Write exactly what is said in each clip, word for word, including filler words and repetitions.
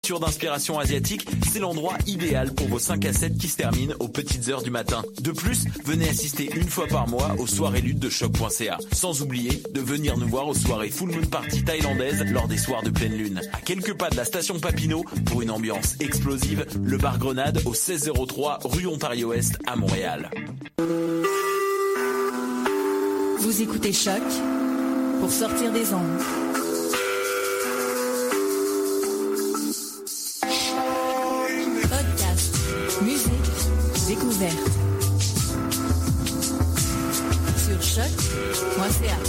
nourriture d'inspiration asiatique, c'est l'endroit idéal pour vos cinq à sept qui se terminent aux petites heures du matin. De plus, venez assister une fois par mois aux soirées luttes de choc point c a. Sans oublier de venir nous voir aux soirées Full Moon Party thaïlandaises lors des soirs de pleine lune. À quelques pas de la station Papineau, pour une ambiance explosive, le bar Grenade au seize zéro trois rue Ontario-Est à Montréal. Vous écoutez Choc pour sortir des ondes. Podcast, musique, découverte. Sur choc point c a.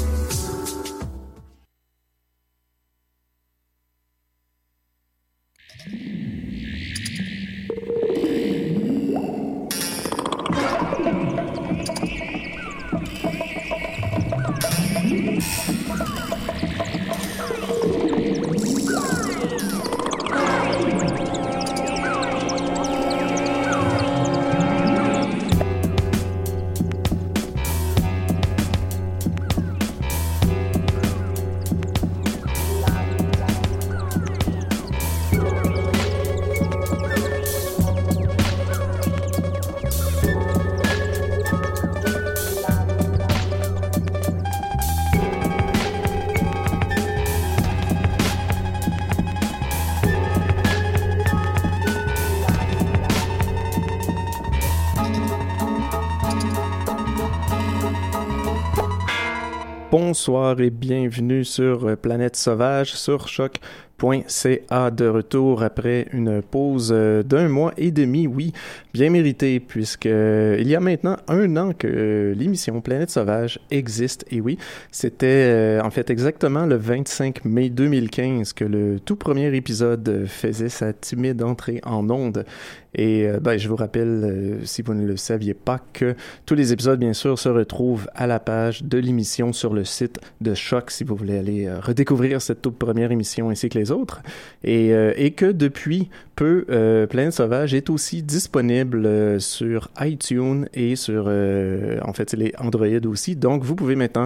Bonsoir et bienvenue sur Planète Sauvage sur choc point c a, de retour après une pause d'un mois et demi, oui, bien méritée, puisque il y a maintenant un an que l'émission Planète Sauvage existe, et oui, c'était en fait exactement le vingt-cinq mai deux mille quinze que le tout premier épisode faisait sa timide entrée en ondes. Et ben, je vous rappelle, euh, si vous ne le saviez pas, que tous les épisodes, bien sûr, se retrouvent à la page de l'émission sur le site de Choc, si vous voulez aller euh, redécouvrir cette toute première émission ainsi que les autres. Et, euh, et que depuis peu, euh, Planète Sauvage est aussi disponible euh, sur iTunes et sur, euh, en fait, les Android aussi. Donc, vous pouvez maintenant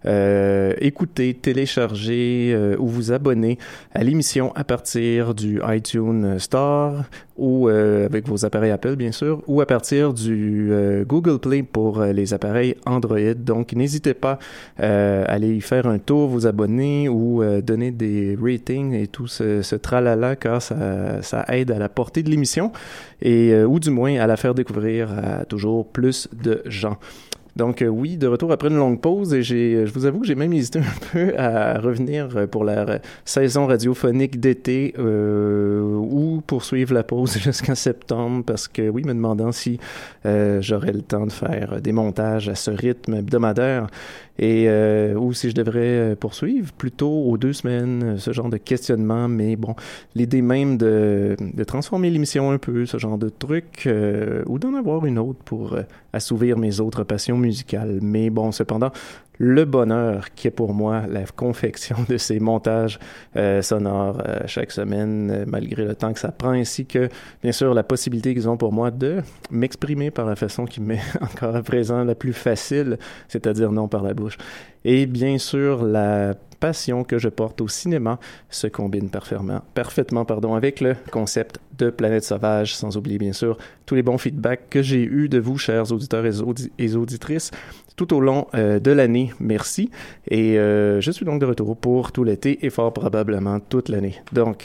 euh, écouter, télécharger euh, ou vous abonner à l'émission à partir du iTunes Store ou euh, avec vos appareils Apple, bien sûr, ou à partir du euh, Google Play pour euh, les appareils Android. Donc, n'hésitez pas euh, à aller y faire un tour, vous abonner ou euh, donner des ratings et tout ce, ce tralala, car ça, ça aide à la portée de l'émission et euh, ou du moins à la faire découvrir à toujours plus de gens. Donc euh, oui, de retour après une longue pause, et j'ai, je vous avoue que j'ai même hésité un peu à revenir pour la euh, saison radiophonique d'été euh, ou poursuivre la pause jusqu'en septembre, parce que oui, me demandant si euh, j'aurais le temps de faire des montages à ce rythme hebdomadaire, et euh, ou si je devrais poursuivre plutôt aux deux semaines, ce genre de questionnement. Mais bon, l'idée même de, de transformer l'émission un peu, ce genre de truc, euh, ou d'en avoir une autre pour euh, assouvir mes autres passions musicales. Mais bon, cependant, le bonheur qui est pour moi la confection de ces montages euh, sonores euh, chaque semaine, euh, malgré le temps que ça prend, ainsi que, bien sûr, la possibilité qu'ils ont pour moi de m'exprimer par la façon qui m'est encore à présent la plus facile, c'est-à-dire non par la bouche. Et bien sûr, la passion que je porte au cinéma se combine parfaitement, parfaitement pardon, avec le concept de Planète Sauvage, sans oublier bien sûr tous les bons feedbacks que j'ai eus de vous, chers auditeurs et, audi- et auditrices, tout au long euh, de l'année. Merci. Et euh, je suis donc de retour pour tout l'été et fort probablement toute l'année. Donc,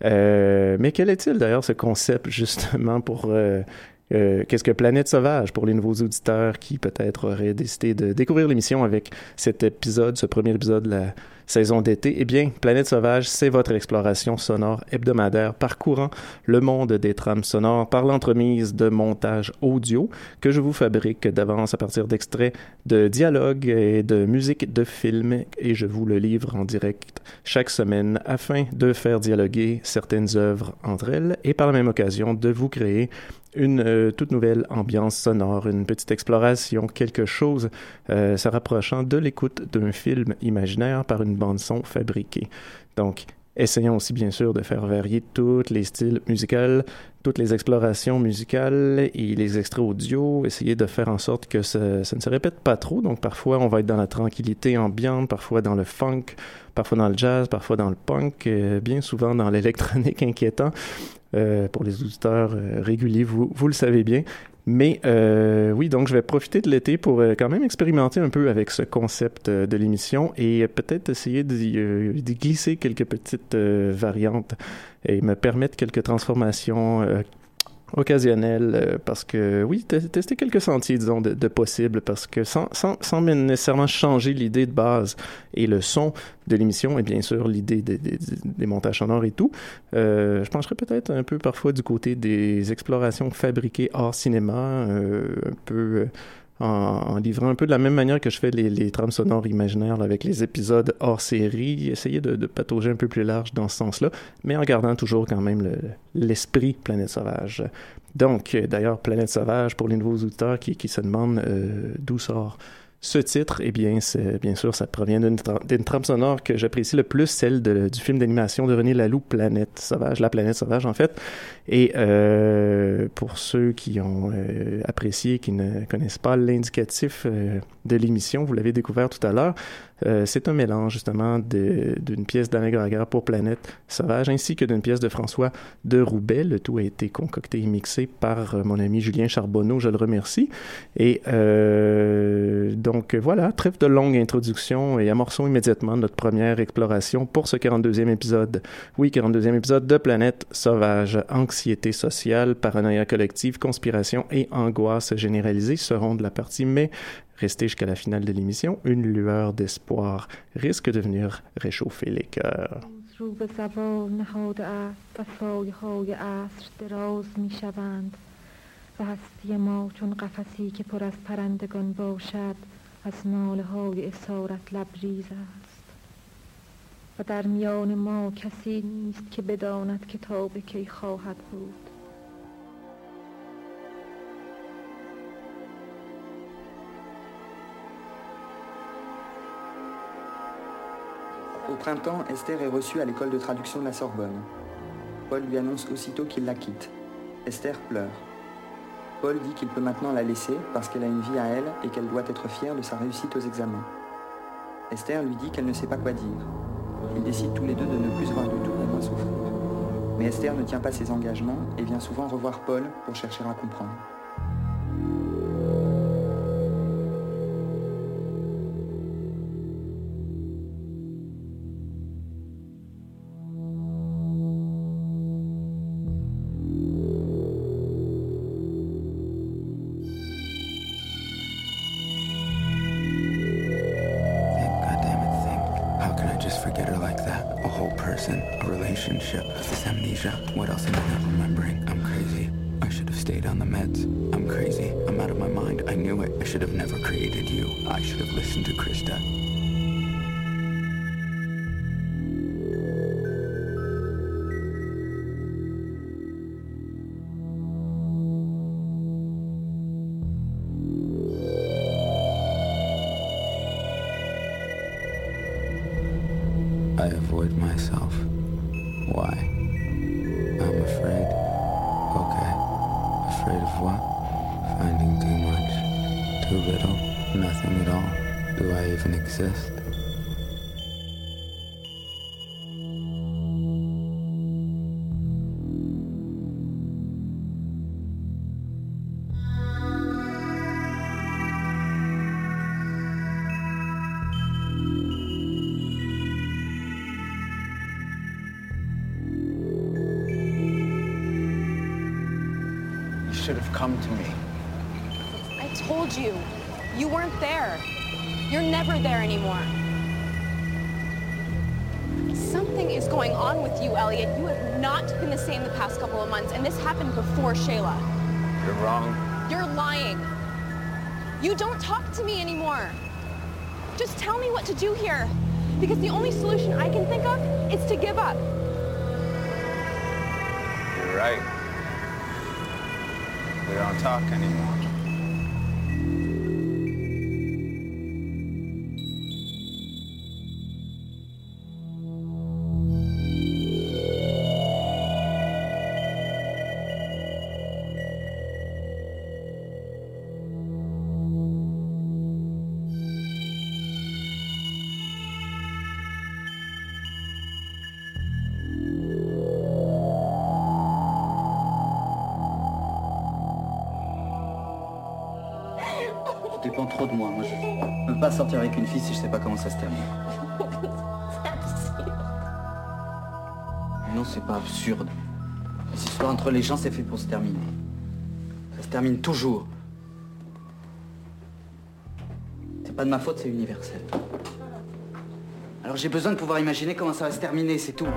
euh, mais quel est-il d'ailleurs ce concept justement pour... Euh, Euh, qu'est-ce que Planète Sauvage pour les nouveaux auditeurs qui peut-être auraient décidé de découvrir l'émission avec cet épisode, ce premier épisode de la saison d'été? Eh bien, Planète Sauvage, c'est votre exploration sonore hebdomadaire parcourant le monde des trames sonores par l'entremise de montages audio que je vous fabrique d'avance à partir d'extraits de dialogues et de musique de films, et je vous le livre en direct chaque semaine afin de faire dialoguer certaines œuvres entre elles et par la même occasion de vous créer une euh, toute nouvelle ambiance sonore, une petite exploration, quelque chose euh, se rapprochant de l'écoute d'un film imaginaire par une bande-son fabriquée. Donc, Essayons aussi bien sûr de faire varier tous les styles musicaux, toutes les explorations musicales et les extraits audio, essayer de faire en sorte que ça, ça ne se répète pas trop. Donc parfois on va être dans la tranquillité ambiante, parfois dans le funk, parfois dans le jazz, parfois dans le punk, euh, bien souvent dans l'électronique inquiétant. Euh, pour les auditeurs euh, réguliers, vous, vous le savez bien. Mais euh, oui, donc je vais profiter de l'été pour euh, quand même expérimenter un peu avec ce concept euh, de l'émission et euh, peut-être essayer d'y, euh, d'y glisser quelques petites euh, variantes et me permettre quelques transformations euh, occasionnelles euh, parce que oui, t- tester quelques sentiers, disons, de, de possibles parce que sans, sans, sans nécessairement changer l'idée de base et le son de l'émission et bien sûr l'idée des, des, des montages sonores et tout, euh, je pencherais peut-être un peu parfois du côté des explorations fabriquées hors cinéma, euh, un peu euh, en, en livrant un peu de la même manière que je fais les, les trames sonores imaginaires là, avec les épisodes hors série, essayer de, de patauger un peu plus large dans ce sens-là, mais en gardant toujours quand même le, l'esprit Planète Sauvage. Donc, d'ailleurs, Planète Sauvage, pour les nouveaux auditeurs qui, qui se demandent euh, d'où sort ce titre, eh bien, c'est, bien sûr, ça provient d'une, tra- d'une trame sonore que j'apprécie le plus, celle de, du film d'animation de René Laloux, Planète Sauvage, La Planète Sauvage, en fait. Et euh, pour ceux qui ont euh, apprécié, qui ne connaissent pas l'indicatif euh, de l'émission, vous l'avez découvert tout à l'heure, euh, c'est un mélange, justement, de, d'une pièce d'Alain Graguer pour Planète Sauvage, ainsi que d'une pièce de François de Roubaix. Le tout a été concocté et mixé par euh, mon ami Julien Charbonneau, je le remercie. Et euh, donc, voilà, trêve de longue introduction et amorçons immédiatement notre première exploration pour ce quarante-deuxième épisode. Oui, quarante-deuxième épisode de Planète Sauvage. Anxiété sociale, paranoïa collective, conspiration et angoisse généralisée seront de la partie, mais restez jusqu'à la finale de l'émission. Une lueur d'espoir risque de venir réchauffer les cœurs. رو به زوال نهاده است و سایه‌های عصر دراز می‌شوند و هستی ما چون قفسی که پر از پرندگان باشد از ناله‌های اسارت لبریز است و در میان ما کسی نیست که بداند که تا به کی خواهد بود. Au printemps, Esther est reçue à l'école de traduction de la Sorbonne. Paul lui annonce aussitôt qu'il la quitte. Esther pleure. Paul dit qu'il peut maintenant la laisser parce qu'elle a une vie à elle et qu'elle doit être fière de sa réussite aux examens. Esther lui dit qu'elle ne sait pas quoi dire. Ils décident tous les deux de ne plus se voir du tout pour moins souffrir. Mais Esther ne tient pas ses engagements et vient souvent revoir Paul pour chercher à comprendre. What else am I not remembering? I'm crazy. I should have stayed on the meds. I'm crazy. I'm out of my mind. I knew it. I should have never created you. I should have listened to Krista. I avoid myself. Why? I'm afraid. Okay. Afraid of what? Finding too much. Too little. Nothing at all. Do I even exist? Should have come to me. I told you. You weren't there. You're never there anymore. Something is going on with you, Elliot. You have not been the same the past couple of months, and this happened before Shayla. You're wrong. You're lying. You don't talk to me anymore. Just tell me what to do here, because the only solution I can think of is to give up. You're right. We don't talk anymore. dépend trop de moi. Moi, je ne peux pas sortir avec une fille si je sais pas comment ça se termine. Non, c'est pas absurde. Les histoires entre les gens, c'est fait pour se terminer. Ça se termine toujours. C'est pas de ma faute, c'est universel. Alors j'ai besoin de pouvoir imaginer comment ça va se terminer, c'est tout.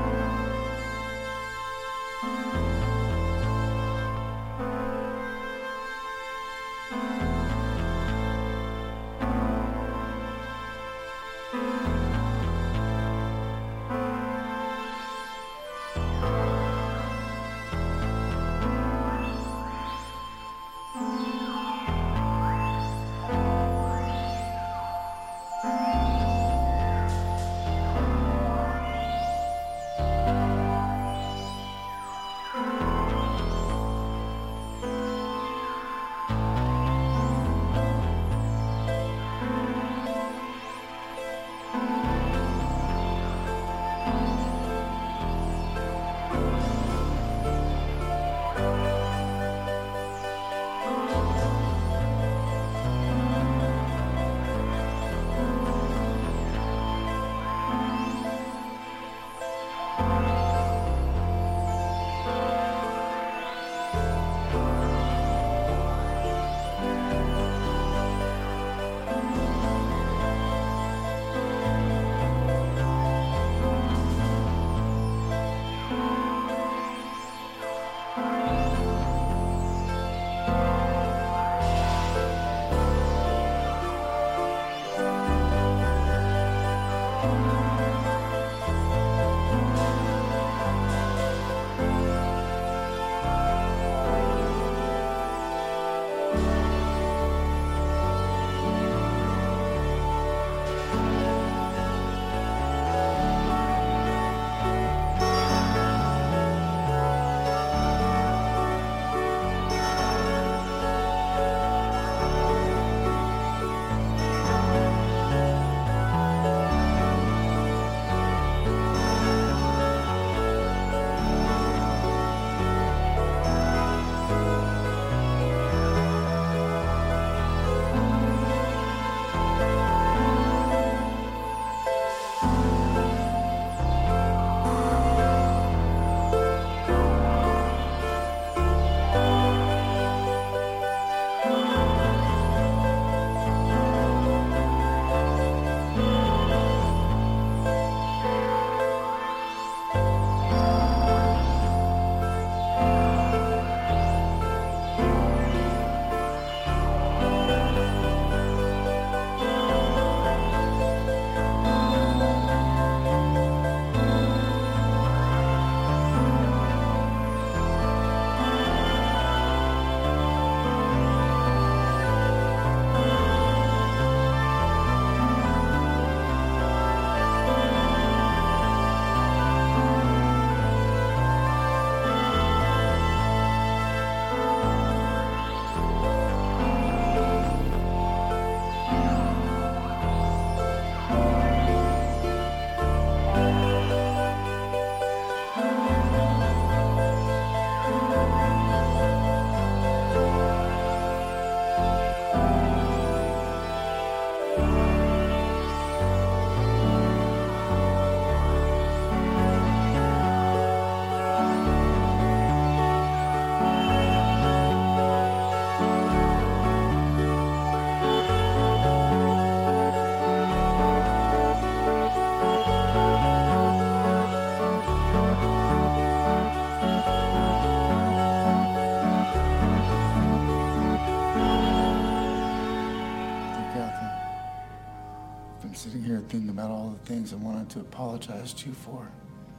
Thinking about all the things I wanted to apologize to you for.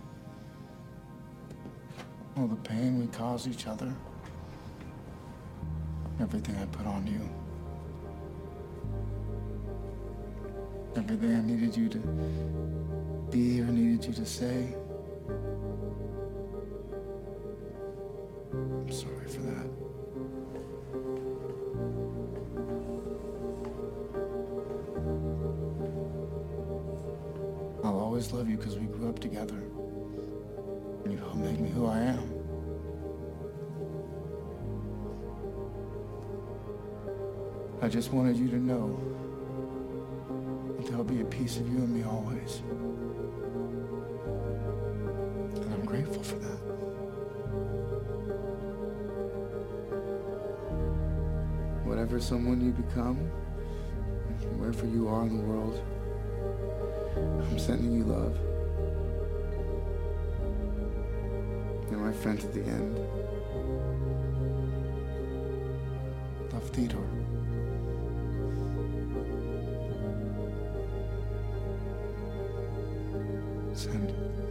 All the pain we caused each other. Everything I put on you. Everything I needed you to be or needed you to say. I'm sorry for that. I'll always love you because we grew up together. And you helped make me who I am. I just wanted you to know that there'll be a piece of you and me always. And I'm grateful for that. Whatever someone you become, wherever you are in the world, I'm sending you love. And my friends at the end, love, Theodore. Send.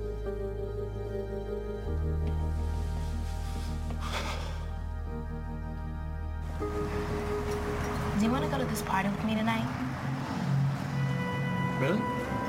Do you want to go to this party with me tonight? Really?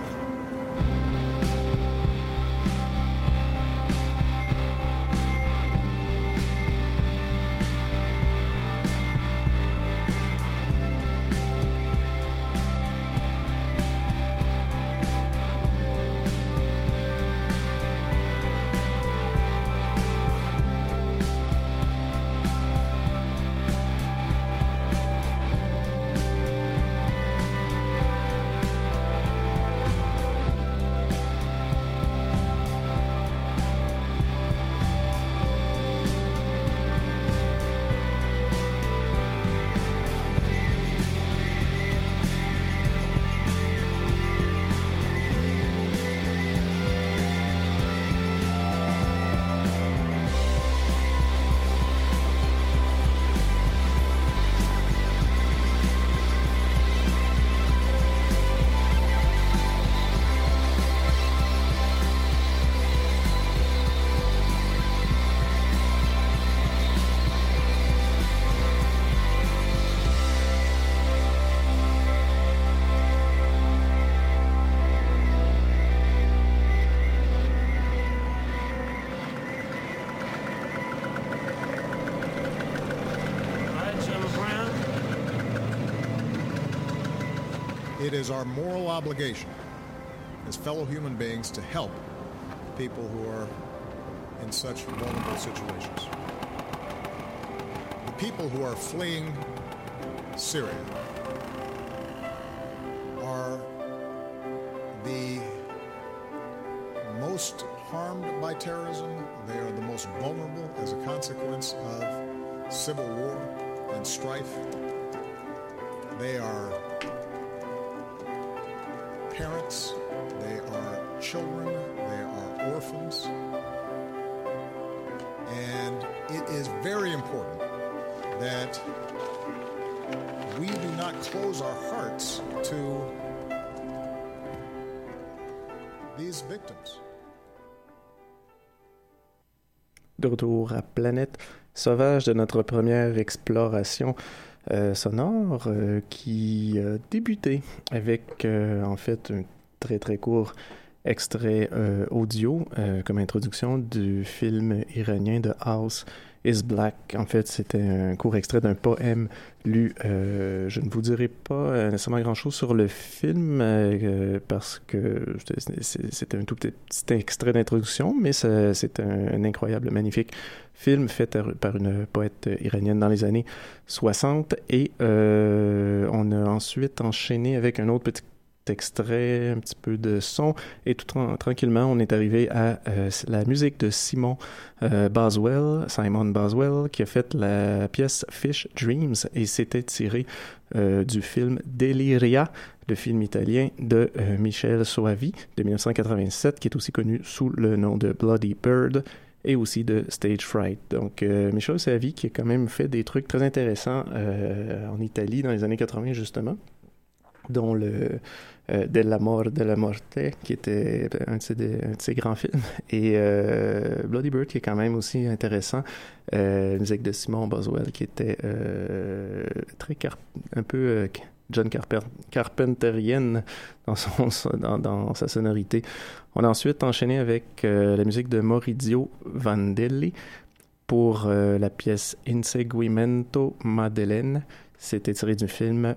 It is our moral obligation as fellow human beings to help people who are in such vulnerable situations. The people who are fleeing Syria are the most harmed by terrorism. They are the most vulnerable as a consequence of civil war and strife. They are parents, they are children, they are orphans. And it is very important that we do not close our hearts to these victims. De retour à Planète Sauvage de notre première exploration euh, sonore euh, qui a débuté avec euh, en fait un très très court extrait euh, audio euh, comme introduction du film iranien The House is Black. En fait, c'était un court extrait d'un poème lu. Euh, je ne vous dirai pas euh, nécessairement grand-chose sur le film euh, parce que c'était un tout petit, petit extrait d'introduction, mais ça, c'est un, un incroyable, magnifique film fait par une poète iranienne dans les années soixante. Et euh, on a ensuite enchaîné avec un autre petit extrait, un petit peu de son, et tout tra- tranquillement, on est arrivé à euh, la musique de Simon euh, Boswell, Simon Boswell, qui a fait la pièce Fish Dreams, et c'était tiré euh, du film Deliria, le film italien de euh, Michel Soavi de dix-neuf cent quatre-vingt-sept, qui est aussi connu sous le nom de Bloody Bird, et aussi de Stage Fright. Donc, euh, Michel Soavi, qui a quand même fait des trucs très intéressants euh, en Italie dans les années quatre-vingts, justement, dont le euh, Dell'amor della morte, qui était un de ses, un de ses grands films, et euh, Bloody Bird, qui est quand même aussi intéressant, euh, la musique de Simon Boswell, qui était euh, très car- un peu euh, John Carper- Carpenterienne dans, son, dans, dans sa sonorité. On a ensuite enchaîné avec euh, la musique de Maurizio Vandelli pour euh, la pièce Inseguimento Madeleine. C'était tiré du film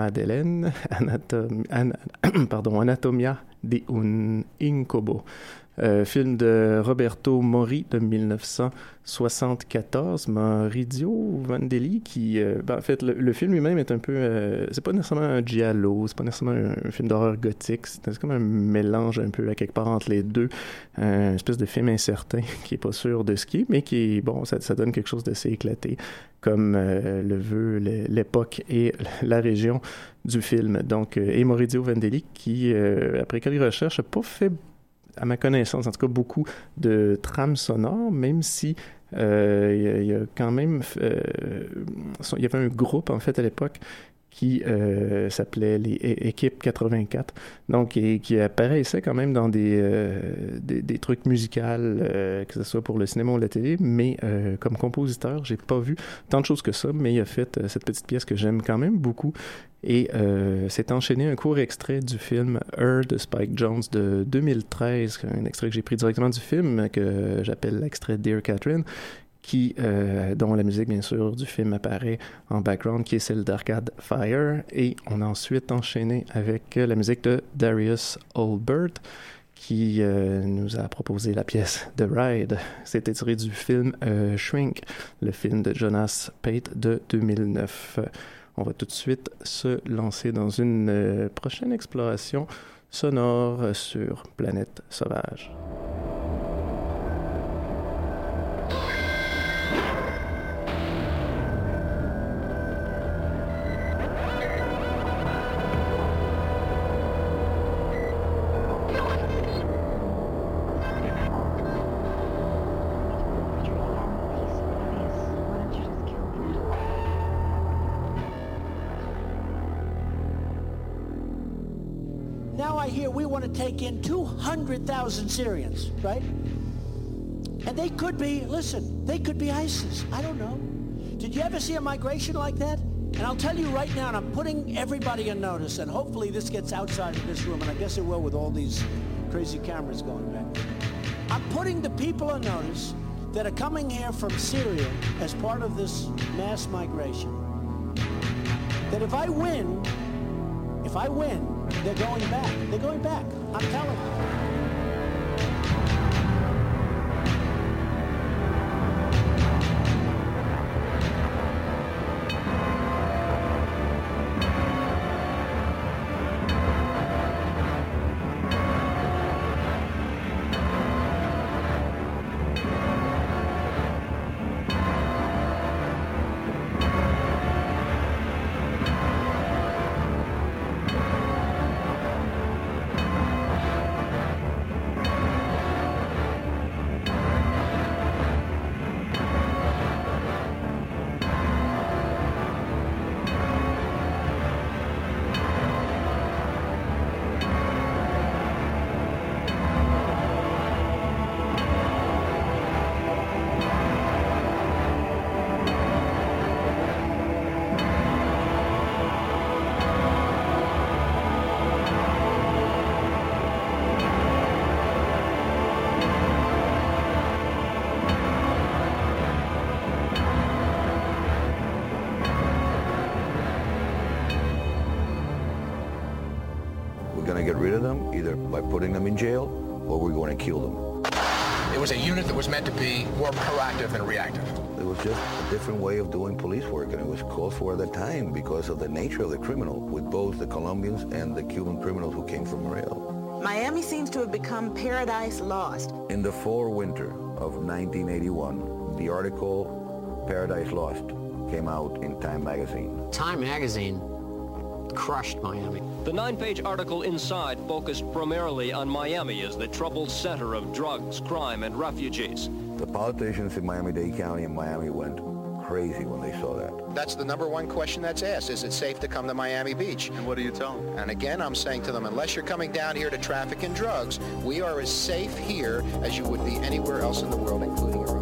Madeleine, Anatom- An- pardon, Anatomia di un Incubo Euh, film de Roberto Mori de dix-neuf cent soixante-quatorze, Maurizio Vandelli, qui, euh, ben, en fait, le, le film lui-même est un peu, euh, c'est pas nécessairement un giallo, c'est pas nécessairement un, un film d'horreur gothique, c'est, c'est comme un mélange un peu à quelque part entre les deux, euh, une espèce de film incertain qui est pas sûr de ce qui est, mais qui est, bon, ça, ça donne quelque chose d'assez éclaté, comme euh, le veut l'époque et la région du film. Donc, euh, et Maurizio Vandelli, qui, euh, après quelques recherches, n'a pas fait, à ma connaissance, en tout cas, beaucoup de trames sonores, même si euh, il y, y a quand même... Euh, il y avait un groupe, en fait, à l'époque, qui euh, s'appelait les é- Équipe quatre-vingt-quatre, donc et, qui apparaissait quand même dans des, euh, des, des trucs musicaux, euh, que ce soit pour le cinéma ou la télé, mais euh, comme compositeur, j'ai pas vu tant de choses que ça, mais il a fait euh, cette petite pièce que j'aime quand même beaucoup, et euh, c'est enchaîné un court extrait du film Her de Spike Jonze de deux mille treize, un extrait que j'ai pris directement du film, que j'appelle l'extrait Dear Catherine, qui, euh, dont la musique, bien sûr, du film apparaît en background, qui est celle d'Arcade Fire. Et on a ensuite enchaîné avec la musique de Darius Olbert, qui euh, nous a proposé la pièce The Ride. C'était tiré du film euh, Shrink, le film de Jonas Pate de deux mille neuf. On va tout de suite se lancer dans une euh, prochaine exploration sonore sur Planète Sauvage. Take in two hundred thousand Syrians, right? And they could be, listen, they could be ISIS. I don't know. Did you ever see a migration like that? And I'll tell you right now, and I'm putting everybody on notice, and hopefully this gets outside of this room, and I guess it will with all these crazy cameras going back. I'm putting the people on notice that are coming here from Syria as part of this mass migration, that if I win, if I win, they're going back. They're going back. I'm telling you. By putting them in jail, or we're going to kill them. It was a unit that was meant to be more proactive than reactive. It was just a different way of doing police work, and it was called for at the time because of the nature of the criminal, with both the Colombians and the Cuban criminals who came from Morel. Miami seems to have become paradise lost. In the fall winter of nineteen eighty-one, the article Paradise Lost came out in Time magazine. Time magazine crushed Miami. The nine-page article inside focused primarily on Miami as the troubled center of drugs, crime, and refugees. The politicians in Miami-Dade County and Miami went crazy when they saw that. That's the number one question that's asked. Is it safe to come to Miami Beach? And what do you tell them? And again, I'm saying to them, unless you're coming down here to traffic in drugs, we are as safe here as you would be anywhere else in the world, including Europe.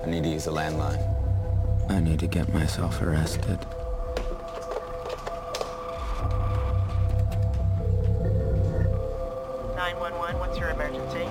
I need to use the landline. I need to get myself arrested. nine one one, what's your emergency?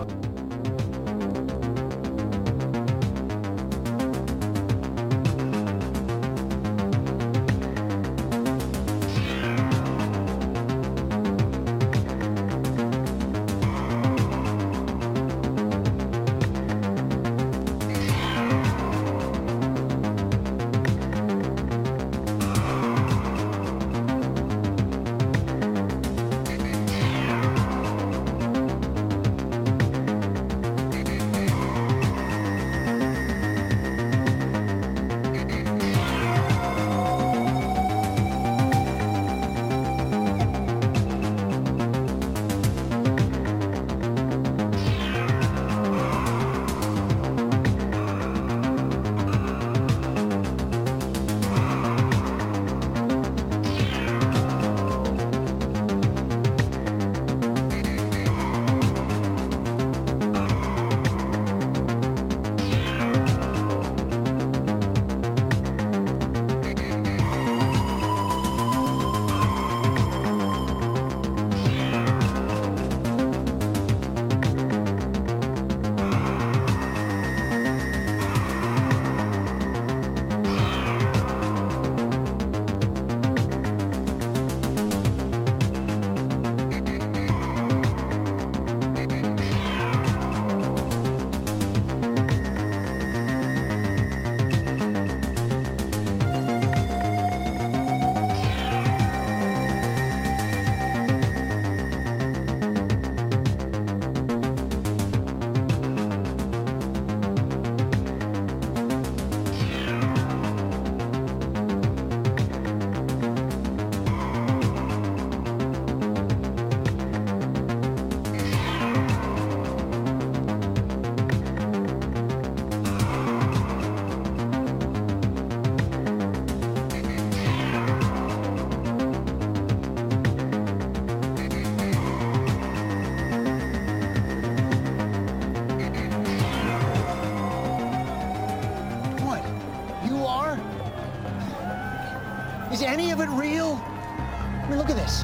Is any of it real? I mean, look at this.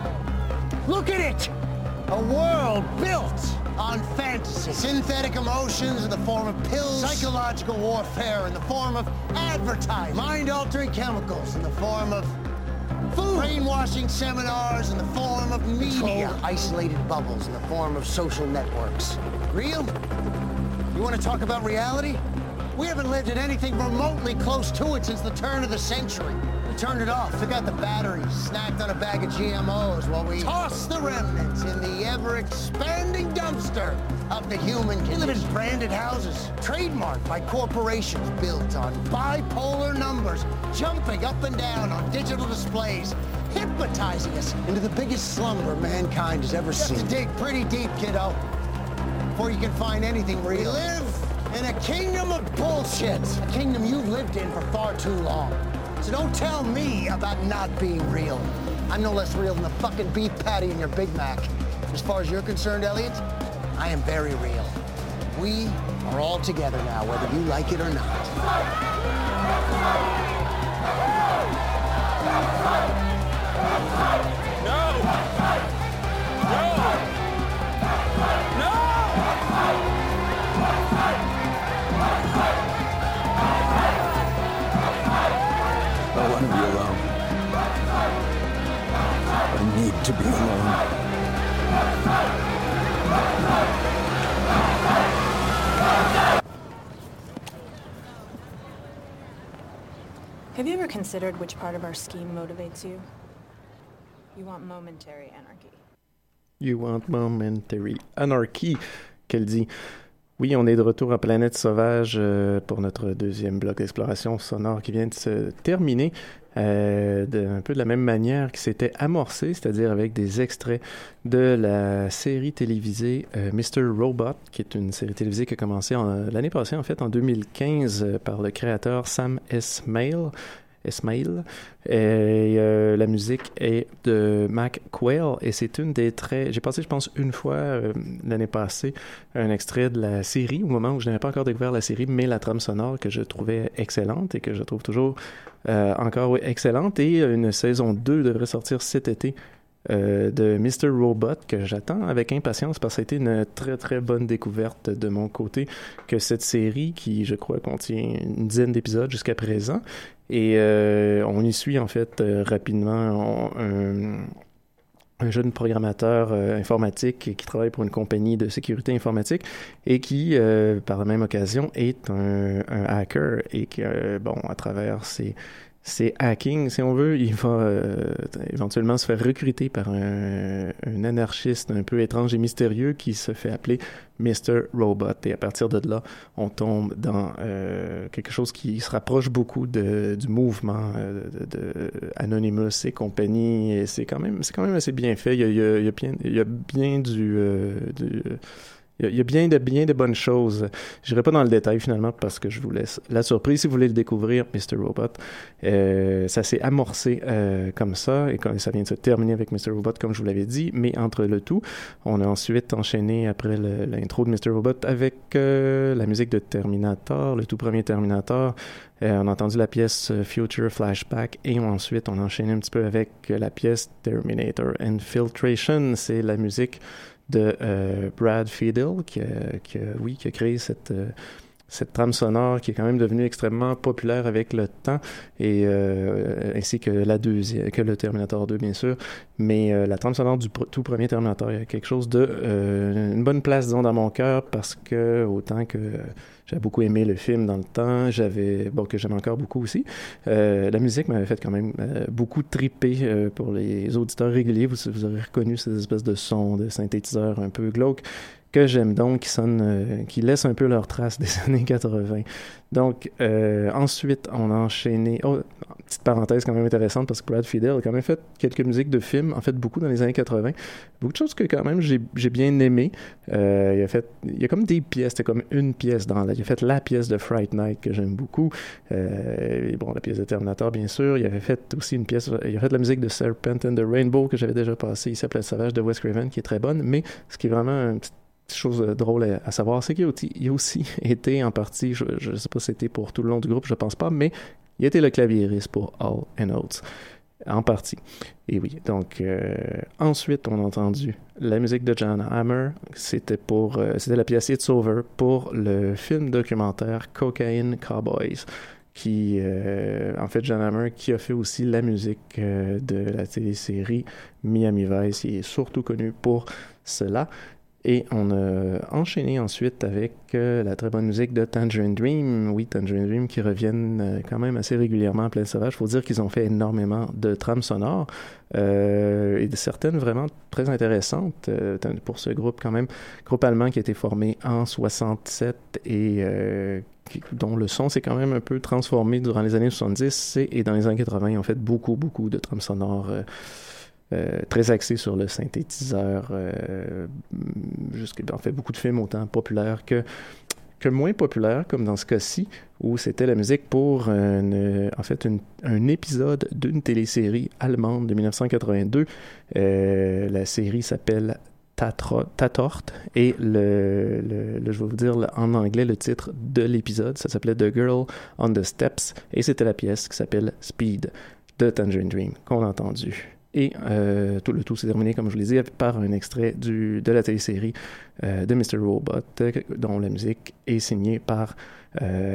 Look at it! A world built on fantasy. Synthetic emotions in the form of pills. Psychological warfare in the form of advertising. Mind-altering chemicals in the form of food. Brainwashing seminars in the form of media. Controlled, isolated bubbles in the form of social networks. Real? You want to talk about reality? We haven't lived in anything remotely close to it since the turn of the century. We turned it off, took out the batteries, snacked on a bag of G M Os while we tossed the remnants in the ever-expanding dumpster of the human condition. We live in branded houses, trademarked by corporations built on bipolar numbers, jumping up and down on digital displays, hypnotizing us into the biggest slumber mankind has ever seen. You have to dig pretty deep, kiddo, before you can find anything real. We live in a kingdom of bullshit. A kingdom you've lived in for far too long. So don't tell me about not being real. I'm no less real than the fucking beef patty in your Big Mac. As far as you're concerned, Elliot, I am very real. We are all together now, whether you like it or not. No! No! No! I want to be alone. I need to be alone. Have you ever considered which part of our scheme motivates you? You want momentary anarchy. You want momentary anarchy, qu'elle dit. Oui, on est de retour à Planète Sauvage euh, pour notre deuxième bloc d'exploration sonore qui vient de se terminer euh, de, un peu de la même manière qui s'était amorcé, c'est-à-dire avec des extraits de la série télévisée euh, mister Robot, qui est une série télévisée qui a commencé en, l'année passée, en fait, en deux mille quinze, euh, par le créateur Sam Esmail. Esmail. Et euh, la musique est de Mac Quayle et c'est une des très... J'ai passé, je pense, une fois euh, l'année passée un extrait de la série, au moment où je n'avais pas encore découvert la série, mais la trame sonore que je trouvais excellente et que je trouve toujours euh, encore oui, excellente. Et une saison deux devrait sortir cet été euh, de mister Robot que j'attends avec impatience parce que ça a été une très très bonne découverte de mon côté que cette série qui, je crois, contient une dizaine d'épisodes jusqu'à présent. Et euh, on y suit en fait euh, rapidement on, un, un jeune programmateur euh, informatique qui travaille pour une compagnie de sécurité informatique et qui, euh, par la même occasion, est un, un hacker et qui, euh, bon, à travers ses, ses hackings, si on veut, il va euh, éventuellement se faire recruter par un, un anarchiste un peu étrange et mystérieux qui se fait appeler mister Robot. Et à partir de là, on tombe dans euh, quelque chose qui se rapproche beaucoup de, du mouvement euh, de, de Anonymous et compagnie. Et c'est quand même, c'est quand même assez bien fait. Il y a, il y a, il y a, bien, il y a bien du... Euh, du Il y a bien de, bien de bonnes choses. Je n'irai pas dans le détail finalement parce que je vous laisse la surprise. Si vous voulez le découvrir, mister Robot, euh, ça s'est amorcé euh, comme ça et quand ça vient de se terminer avec mister Robot comme je vous l'avais dit. Mais entre le tout, on a ensuite enchaîné après le, l'intro de mister Robot avec euh, la musique de Terminator, le tout premier Terminator. Euh, on a entendu la pièce Future Flashback et ensuite on a enchaîné un petit peu avec la pièce Terminator Infiltration. C'est la musique de euh, Brad Fiedel, qui a, qui a, oui, qui a créé cette, euh, cette trame sonore qui est quand même devenue extrêmement populaire avec le temps, et euh, ainsi que la deuxième, que le Terminator deux, bien sûr. Mais euh, la trame sonore du pr- tout premier Terminator, il y a quelque chose de... Euh, une bonne place, disons, dans mon cœur, parce que autant que... Euh, J'avais beaucoup aimé le film dans le temps, j'avais, bon, que j'aime encore beaucoup aussi. Euh, la musique m'avait fait quand même euh, beaucoup triper euh, pour les auditeurs réguliers. Vous, vous aurez reconnu ces espèces de sons, de synthétiseurs un peu glauques que j'aime donc, qui sonnent, euh, qui laissent un peu leur trace des années quatre-vingts. Donc, euh, ensuite, on a enchaîné... Oh, petite parenthèse quand même intéressante, parce que Brad Fiedel a quand même fait quelques musiques de films, en fait beaucoup dans les années quatre-vingts. Beaucoup de choses que quand même j'ai, j'ai bien aimé. Euh, il a fait... Il y a comme des pièces, c'était comme une pièce dans la... Il a fait la pièce de Fright Night que j'aime beaucoup. Euh, et bon, la pièce de Terminator, bien sûr. Il avait fait aussi une pièce... Il a fait la musique de Serpent and the Rainbow que j'avais déjà passée. Il s'appelle Le Sauvage de Wes Craven, qui est très bonne. Mais ce qui est vraiment un petit chose drôle à, à savoir, c'est qu'il a aussi, il a aussi été en partie, je ne sais pas si c'était pour tout le long du groupe, je pense pas, mais il a été le claviériste pour Hall and Oates, en partie. Et oui, donc euh, ensuite on a entendu la musique de Jan Hammer, c'était pour, euh, c'était la pièce It's Over pour le film documentaire Cocaine Cowboys, qui, euh, en fait, Jan Hammer, qui a fait aussi la musique euh, de la télésérie Miami Vice, il est surtout connu pour cela. Et on a enchaîné ensuite avec euh, la très bonne musique de Tangerine Dream. Oui, Tangerine Dream qui reviennent euh, quand même assez régulièrement à Plaine Sauvage. Il faut dire qu'ils ont fait énormément de trames sonores euh, et de certaines vraiment très intéressantes euh, pour ce groupe quand même. Groupe allemand qui a été formé en soixante-sept et euh, qui, dont le son s'est quand même un peu transformé durant les années soixante-dix et, et dans les années quatre-vingts. Ils ont fait beaucoup, beaucoup de trames sonores euh, Euh, très axé sur le synthétiseur, euh, jusqu'à, en fait beaucoup de films autant populaires que, que moins populaires, comme dans ce cas-ci, où c'était la musique pour une, en fait une, un épisode d'une télésérie allemande de dix-neuf cent quatre-vingt-deux. Euh, la série s'appelle Tatort, et le, le, le, je vais vous dire le, en anglais le titre de l'épisode, ça s'appelait The Girl on the Steps, et c'était la pièce qui s'appelle Speed de Tangerine Dream qu'on a entendu. Et euh, tout le tout s'est terminé, comme je vous l'ai dit, par un extrait du, de la télésérie euh, de mister Robot, euh, dont la musique est signée par euh,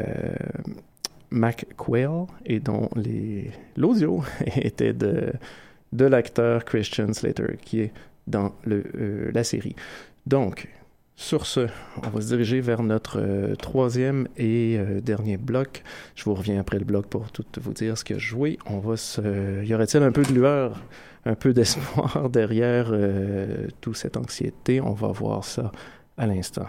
Mac Quayle et dont les, l'audio était de, de l'acteur Christian Slater, qui est dans le, euh, la série. Donc, sur ce, on va se diriger vers notre euh, troisième et euh, dernier bloc. Je vous reviens après le bloc pour tout vous dire ce que je joué. On va se... Y aurait-il un peu de lueur, un peu d'espoir derrière euh, toute cette anxiété? On va voir ça à l'instant.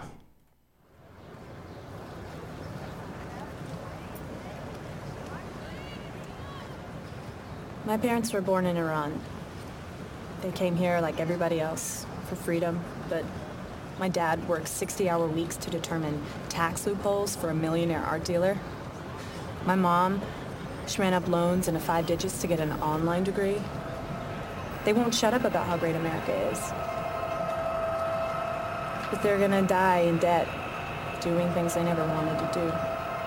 My parents were born in Iran. They came here like everybody else for freedom, but my dad works sixty-hour weeks to determine tax loopholes for a millionaire art dealer. My mom, She ran up loans into five digits to get an online degree. They won't shut up about how great America is. But they're gonna die in debt, doing things they never wanted to do.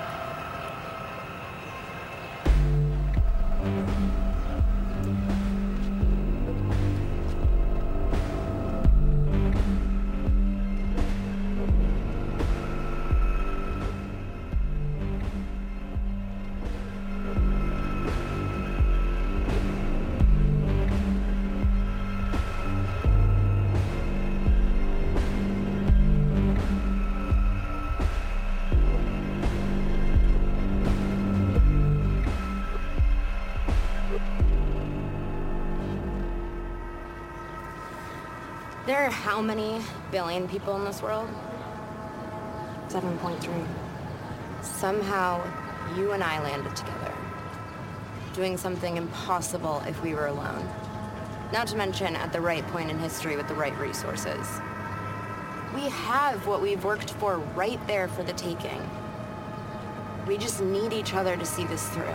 There are how many billion people in this world? seven point three. Somehow, you and I landed together. Doing something impossible if we were alone. Not to mention at the right point in history with the right resources. We have what we've worked for right there for the taking. We just need each other to see this through.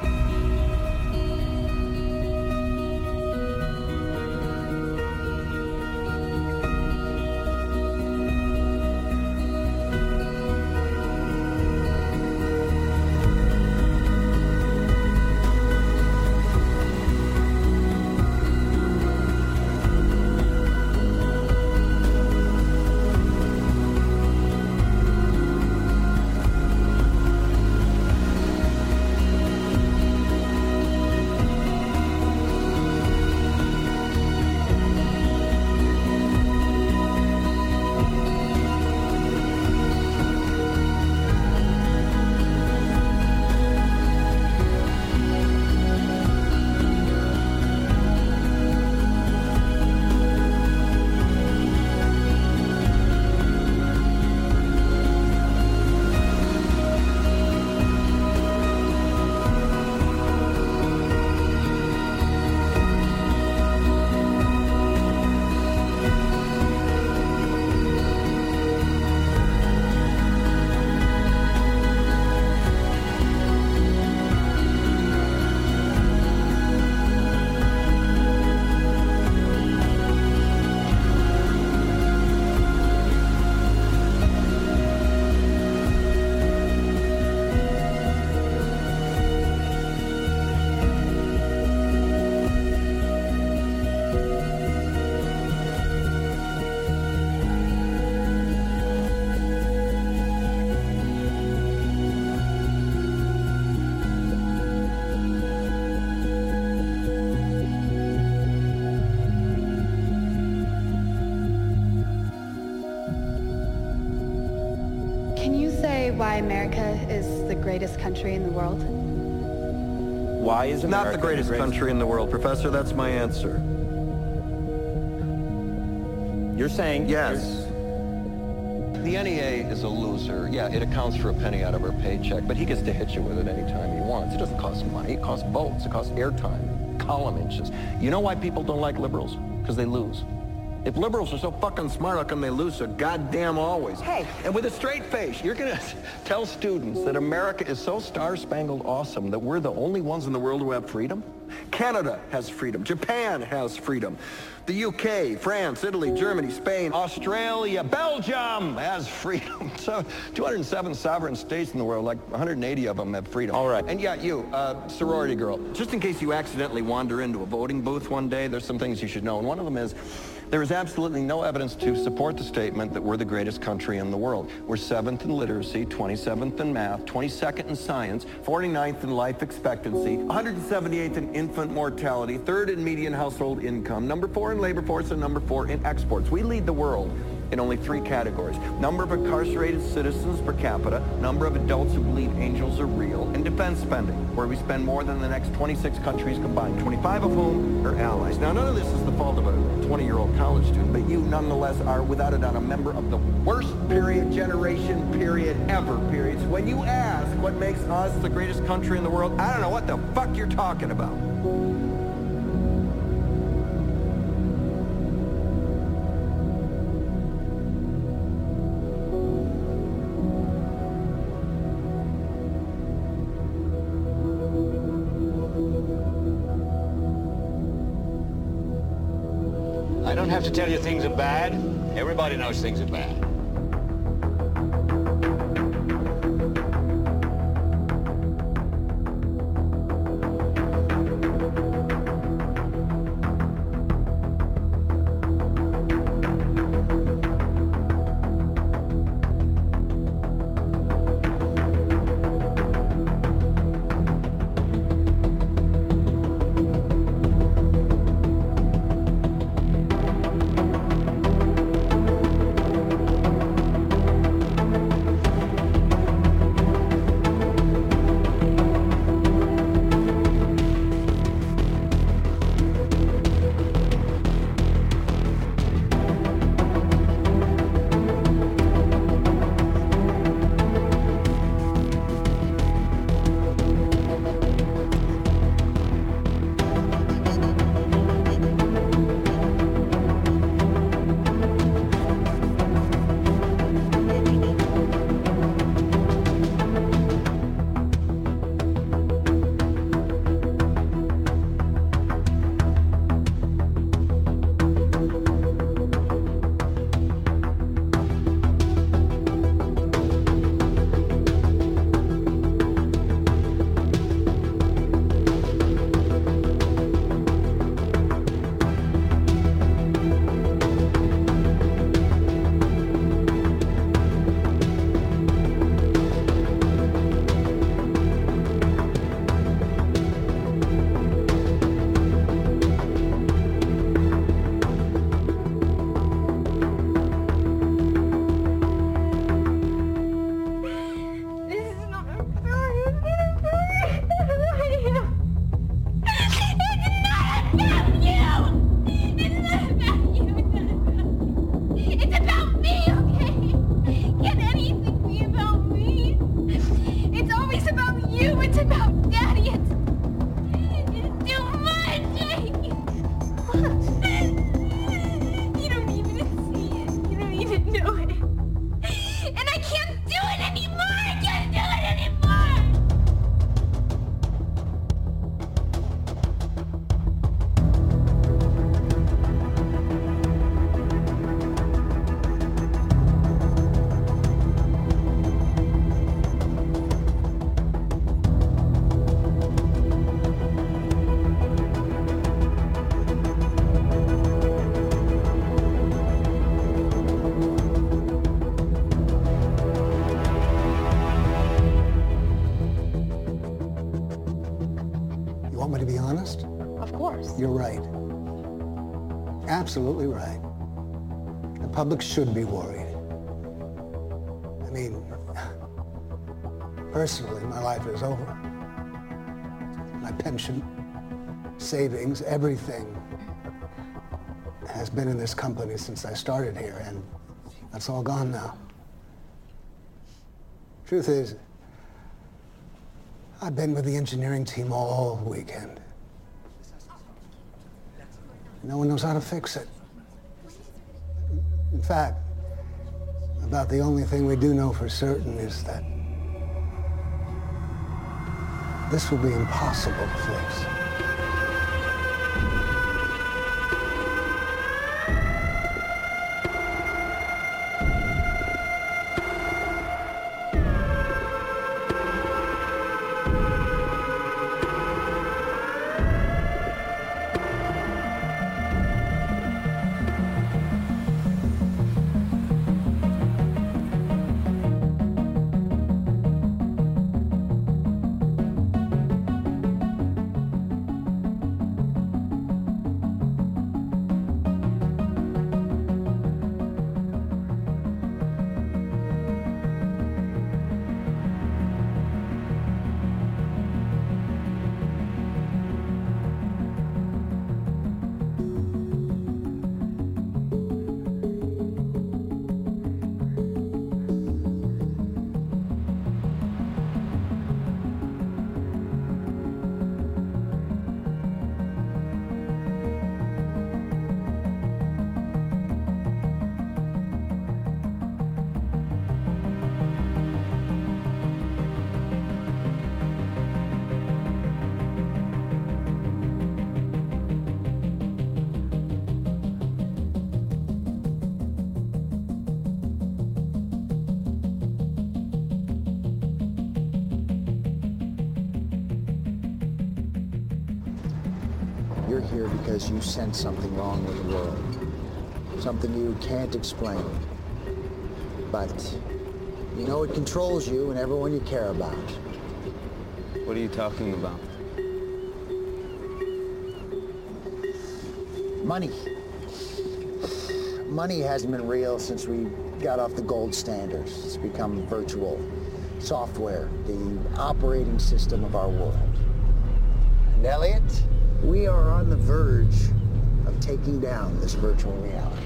Why America is the greatest country in the world? Why is America not the greatest, the greatest country in the world, Professor? That's my answer. You're saying yes. The N E A is a loser. Yeah, it accounts for a penny out of our paycheck, but he gets to hit you with it anytime he wants. It doesn't cost money. It costs votes. It costs airtime, column inches. You know why people don't like liberals? Because they lose. If liberals are so fucking smart, how come they lose so goddamn always? Hey. And with a straight face, you're going to tell students that America is so star-spangled awesome that we're the only ones in the world who have freedom? Canada has freedom. Japan has freedom. The U K, France, Italy, Germany, Spain, Australia, Belgium has freedom. So two hundred seven sovereign states in the world, like one hundred eighty of them have freedom. All right. And yeah, you, uh, sorority girl, just in case you accidentally wander into a voting booth one day, there's some things you should know. And one of them is, there is absolutely no evidence to support the statement that we're the greatest country in the world. We're seventh in literacy, twenty-seventh in math, twenty-second in science, forty-ninth in life expectancy, one hundred seventy-eighth in infant mortality, third in median household income, number four in labor force, and number four in exports. We lead the world in only three categories: number of incarcerated citizens per capita, number of adults who believe angels are real, and defense spending, where we spend more than the next twenty-six countries combined, twenty-five of whom are allies. Now, none of this is the fault of a twenty-year-old college student, but you nonetheless are, without a doubt, a member of the worst period, generation, period, ever, periods. When you ask what makes us the greatest country in the world, I don't know what the fuck you're talking about. have to tell you things are bad. Everybody knows things are bad. You're right. Absolutely right. The public should be worried. I mean, personally, my life is over. My pension, savings, everything has been in this company since I started here, and that's all gone now. Truth is, I've been with the engineering team all weekend. No one knows how to fix it. In fact, about the only thing we do know for certain is that this will be impossible to fix. you're here because you sense something wrong with the world. Something you can't explain. But you know it controls you and everyone you care about. What are you talking about? Money. Money hasn't been real since we got off the gold standards. It's become virtual. Software, the operating system of our world. And Elliot, we are on the verge of taking down this virtual reality.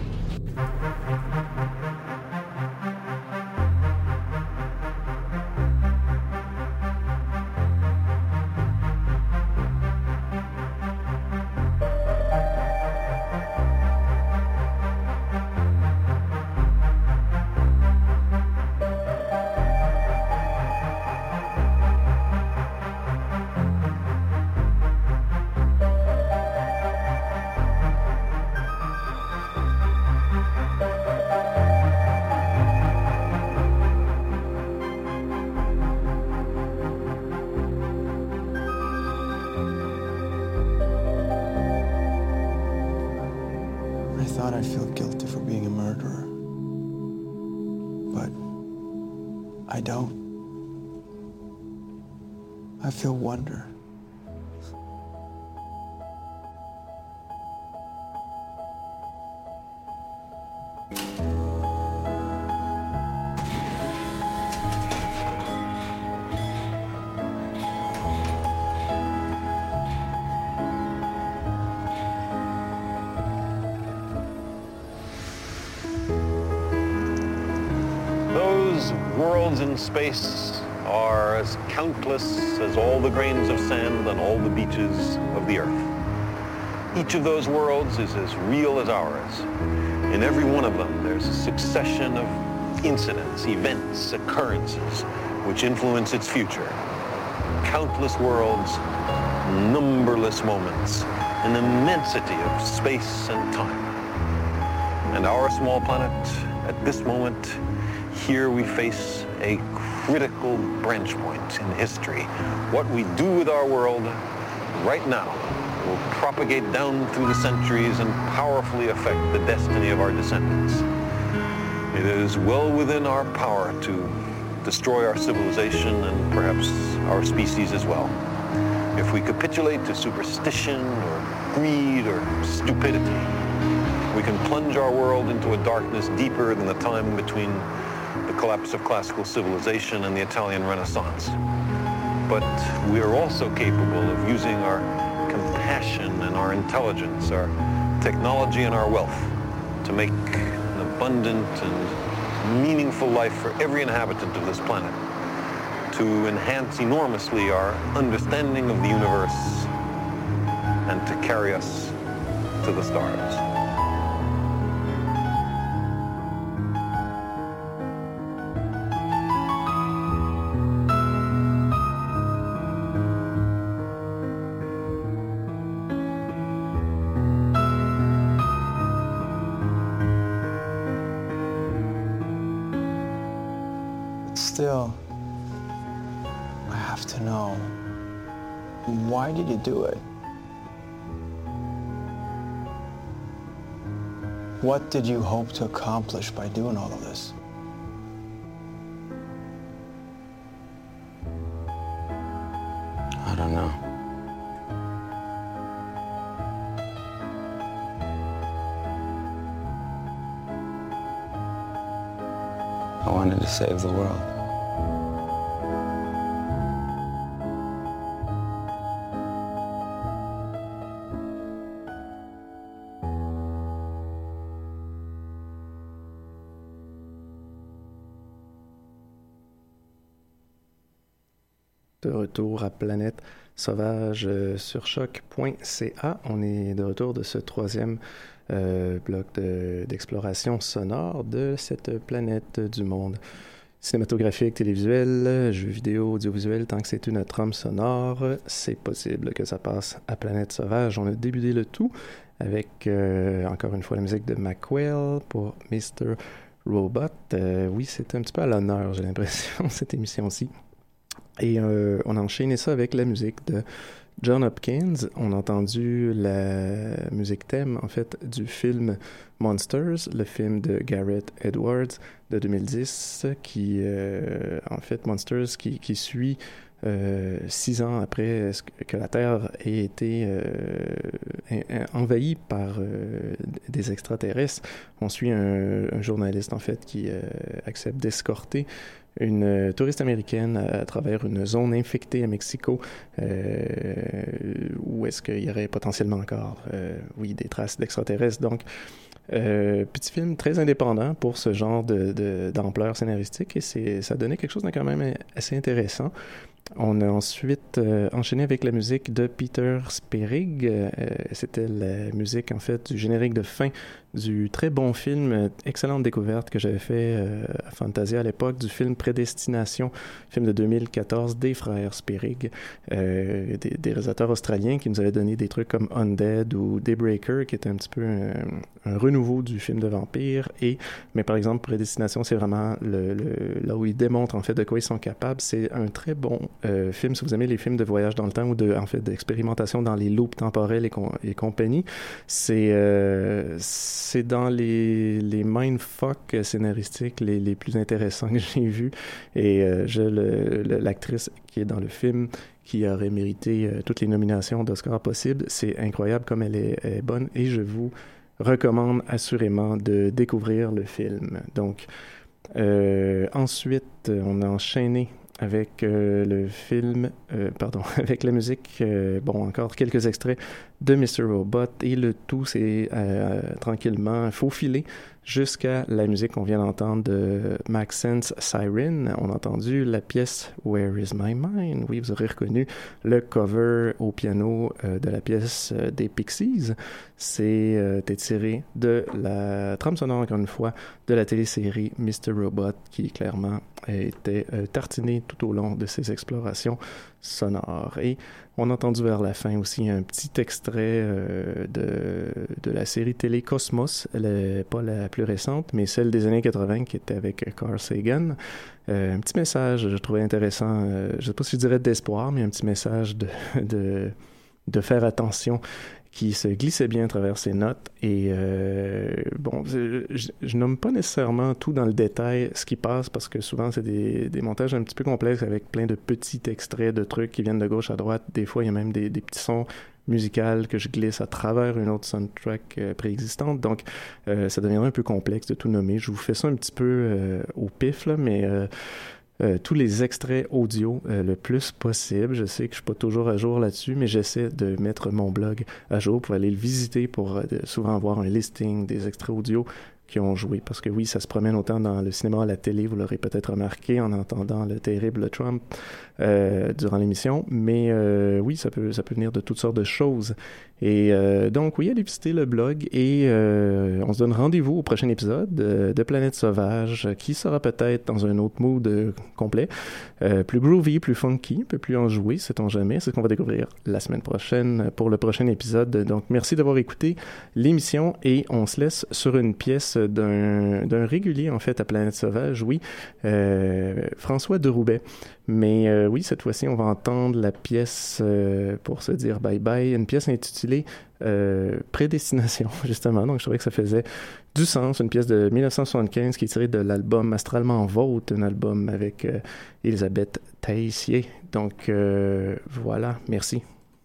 I feel wonder. Those worlds in space are as countless as all the grains of sand on all the beaches of the earth. Each of those worlds is as real as ours. In every one of them, there's a succession of incidents, events, occurrences, which influence its future. Countless worlds, numberless moments, an immensity of space and time. And our small planet, at this moment, here we face a critical branch point in history. What we do with our world right now will propagate down through the centuries and powerfully affect the destiny of our descendants. It is well within our power to destroy our civilization and perhaps our species as well. If we capitulate to superstition or greed or stupidity, we can plunge our world into a darkness deeper than the time between the collapse of classical civilization and the Italian Renaissance. But we are also capable of using our compassion and our intelligence, our technology and our wealth to make an abundant and meaningful life for every inhabitant of this planet, to enhance enormously our understanding of the universe and to carry us to the stars. Still, I have to know, why did you do it? What did you hope to accomplish by doing all of this? I don't know. I wanted to save the world. De retour à Planète Sauvage euh, sur choc point c a. On est de retour de ce troisième euh, bloc de, d'exploration sonore de cette planète du monde. Cinématographique, télévisuel, jeux vidéo, audiovisuel, tant que c'est une trame sonore, c'est possible que ça passe à Planète Sauvage. On a débuté le tout avec, euh, encore une fois, la musique de Mackwell pour mister Robot. Euh, oui, c'est un petit peu à l'honneur, j'ai l'impression, cette émission-ci. Et euh, on a enchaîné ça avec la musique de John Hopkins. On a entendu la musique thème, en fait, du film Monsters, le film de Gareth Edwards de deux mille dix, qui, euh, en fait, Monsters, qui, qui suit euh, six ans après que la Terre ait été euh, envahie par euh, des extraterrestres. On suit un, un journaliste, en fait, qui euh, accepte d'escorter une touriste américaine à, à travers une zone infectée à Mexico, euh, où est-ce qu'il y aurait potentiellement encore, euh, oui, des traces d'extraterrestres. Donc, euh, petit film très indépendant pour ce genre de, de, d'ampleur scénaristique, et c'est, ça donnait quelque chose de quand même assez intéressant. On a ensuite euh, enchaîné avec la musique de Peter Sperig. Euh, c'était la musique, en fait, du générique de fin du très bon film, euh, excellente découverte que j'avais fait euh, à Fantasia à l'époque, du film Prédestination, film de deux mille quatorze des frères Sperig, euh, des, des réalisateurs australiens qui nous avaient donné des trucs comme Undead ou Daybreaker, qui était un petit peu un, un renouveau du film de vampire. Et, mais par exemple, Prédestination, c'est vraiment le, le, là où ils démontrent en fait de quoi ils sont capables. C'est un très bon euh, film, si vous aimez les films de voyage dans le temps ou de, en fait, d'expérimentation dans les loops temporels et, com- et compagnie. C'est, euh, c'est dans les, les mindfuck scénaristiques les, les plus intéressants que j'ai vus. Et euh, je, le, le, l'actrice qui est dans le film, qui aurait mérité euh, toutes les nominations d'Oscar possibles, c'est incroyable comme elle est, elle est bonne, et je vous recommande assurément de découvrir le film. Donc, euh, ensuite, on a enchaîné avec euh, le film, euh, pardon, avec la musique, euh, bon, encore quelques extraits de mister Robot, et le tout s'est euh, tranquillement faufilé jusqu'à la musique qu'on vient d'entendre de Maxence Siren. On a entendu la pièce Where is my mind? Oui, vous aurez reconnu le cover au piano euh, de la pièce euh, des Pixies. C'est euh, tiré de la trame sonore, encore une fois, de la télésérie mister Robot, qui clairement a été euh, tartinée tout au long de ses explorations sonores. Et on a entendu vers la fin aussi un petit extrait euh, de, de la série télé Cosmos, elle, pas la plus récente, mais celle des années quatre-vingts qui était avec Carl Sagan. Euh, un petit message, je trouvais intéressant, euh, je ne sais pas si je dirais d'espoir, mais un petit message de, de, de faire attention, qui se glissait bien à travers ses notes. Et euh, bon, je, je nomme pas nécessairement tout dans le détail ce qui passe, parce que souvent c'est des, des montages un petit peu complexes avec plein de petits extraits de trucs qui viennent de gauche à droite. Des fois, il y a même des, des petits sons musicaux que je glisse à travers une autre soundtrack euh, préexistante. Donc, euh, ça deviendrait un peu complexe de tout nommer. Je vous fais ça un petit peu euh, au pif, là, mais... Euh, Euh, tous les extraits audio euh, le plus possible. Je sais que je suis pas toujours à jour là-dessus, mais j'essaie de mettre mon blog à jour pour aller le visiter, pour euh, souvent avoir un listing des extraits audio qui ont joué. Parce que oui, ça se promène autant dans le cinéma, à la télé, vous l'aurez peut-être remarqué en entendant le terrible Trump euh, durant l'émission, mais euh, oui, ça peut, ça peut venir de toutes sortes de choses. Et euh, donc, oui, allez visiter le blog, et euh, on se donne rendez-vous au prochain épisode euh, de Planète Sauvage, qui sera peut-être dans un autre mood euh, complet, euh, plus groovy, plus funky, un peu plus enjoué, sait-on jamais. C'est ce qu'on va découvrir la semaine prochaine pour le prochain épisode. Donc, merci d'avoir écouté l'émission, et on se laisse sur une pièce d'un, d'un régulier, en fait, à Planète Sauvage, oui, euh, François de Roubaix. Mais euh, oui, cette fois-ci, on va entendre la pièce euh, pour se dire bye-bye, une pièce intitulée euh, Prédestination, justement. Donc, je trouvais que ça faisait du sens. Une pièce de dix-neuf cent soixante-quinze qui est tirée de l'album Astralement Vôtre, un album avec euh, Elisabeth Teissier. Donc, euh, voilà, merci.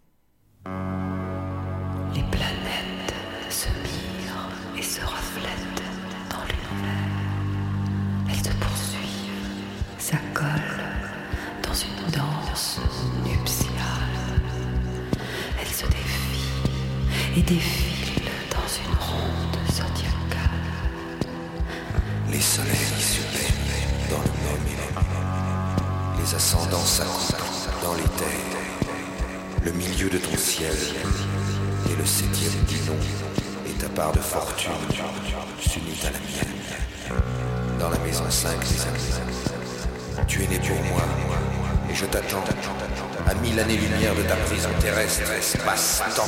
Les planètes se mirent et se reflètent dans l'univers. Elles se poursuivent, s'accolent dans une danse nuptiale. Elles se défient et défilent dans une ronde zodiacale. Les soleils se baignent dans le même élément. Les ascendants s'accouplent dans les terres. Le milieu de ton ciel et le septième du nom et ta part de fortune s'unit à la mienne. Dans la maison cinq des années, tu es né pour moi et je t'attends à mille années-lumière de ta prison terrestre, espace-temps.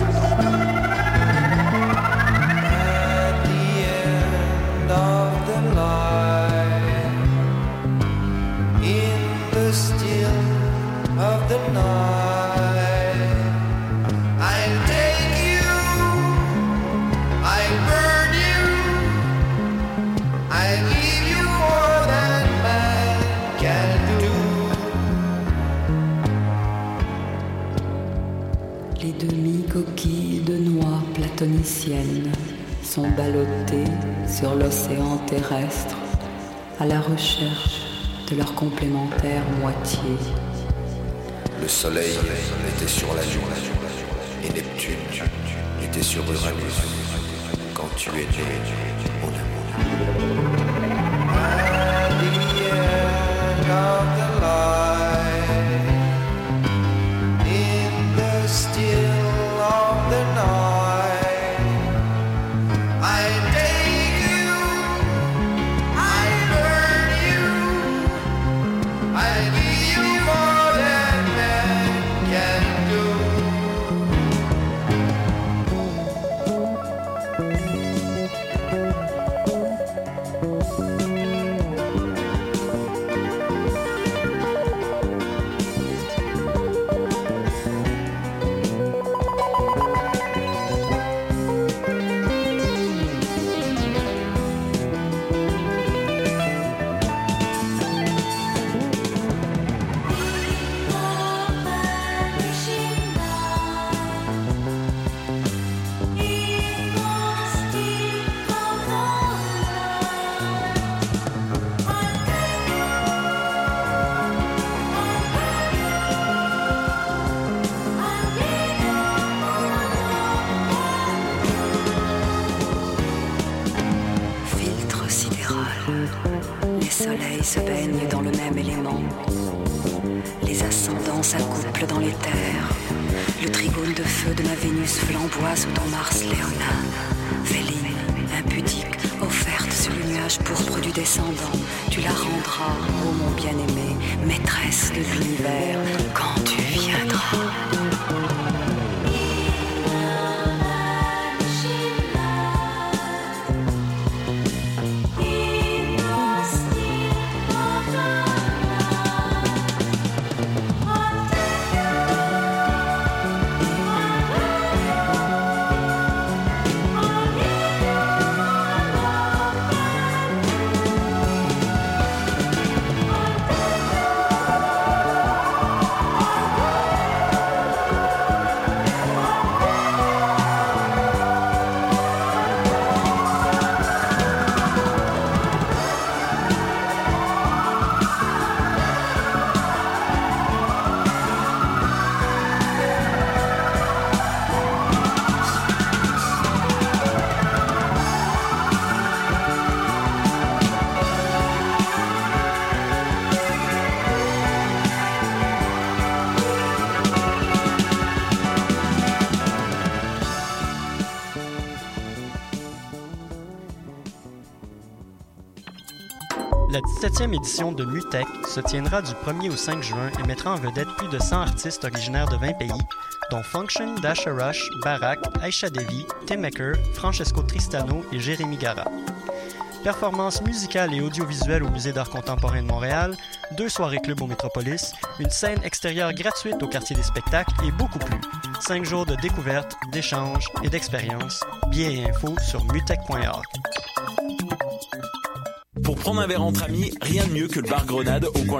At the end of the line, in the still Sont ballottés sur l'océan terrestre à la recherche de leur complémentaire moitié. Le soleil était sur la Lune et Neptune était sur Uranus quand tu es né, mon amour. At the end of the line, in the still of the night, Se baignent dans le même élément. Les ascendants s'accouplent dans les terres. Le trigone de feu de ma Vénus flamboie sous ton Mars léonin. Véline, impudique, offerte sur le nuage pourpre du descendant. Tu la rendras, ô mon bien-aimé, maîtresse de l'univers, quand tu viendras. La dix-septième édition de MUTEC se tiendra du premier au cinq juin et mettra en vedette plus de cent artistes originaires de vingt pays, dont Function, Dasha Rush, Barak, Aisha Devi, Tim Maker, Francesco Tristano et Jérémy Gara. Performances musicales et audiovisuelles au Musée d'art contemporain de Montréal, deux soirées club au Métropolis, une scène extérieure gratuite au quartier des spectacles et beaucoup plus. Cinq jours de découverte, d'échanges et d'expériences. Billets et infos sur mutec point org. Pour prendre un verre entre amis, rien de mieux que le bar Grenade au coin